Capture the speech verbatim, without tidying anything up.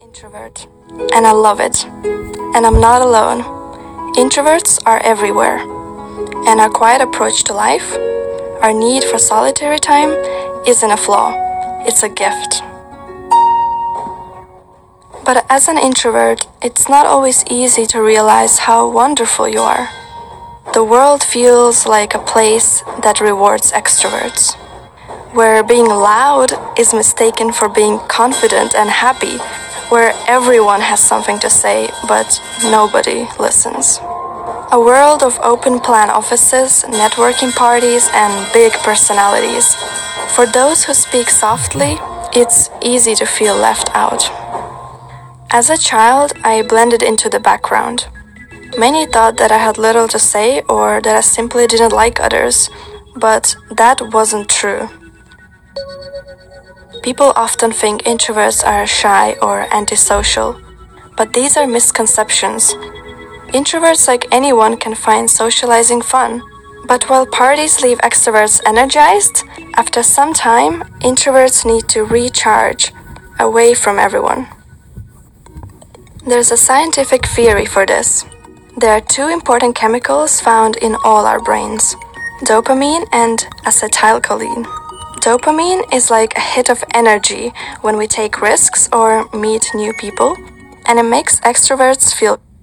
Introvert, and I love it. And I'm not alone. Introverts are everywhere, and our quiet approach to life, our need for solitary time, isn't a flaw, it's a gift. But as an introvert, it's not always easy to realize how wonderful you are. The world feels like a place that rewards extroverts, where being loud is mistaken for being confident and happy, where everyone has something to say, but nobody listens. A world of open plan offices, networking parties, and big personalities. For those who speak softly, it's easy to feel left out. As a child, I blended into the background. Many thought that I had little to say or that I simply didn't like others, but that wasn't true. People often think introverts are shy or antisocial, but these are misconceptions. Introverts, like anyone, can find socializing fun. But while parties leave extroverts energized, after some time, introverts need to recharge away from everyone. There's a scientific theory for this. There are two important chemicals found in all our brains: dopamine and acetylcholine. Dopamine is like a hit of energy when we take risks or meet new people, and it makes extroverts feel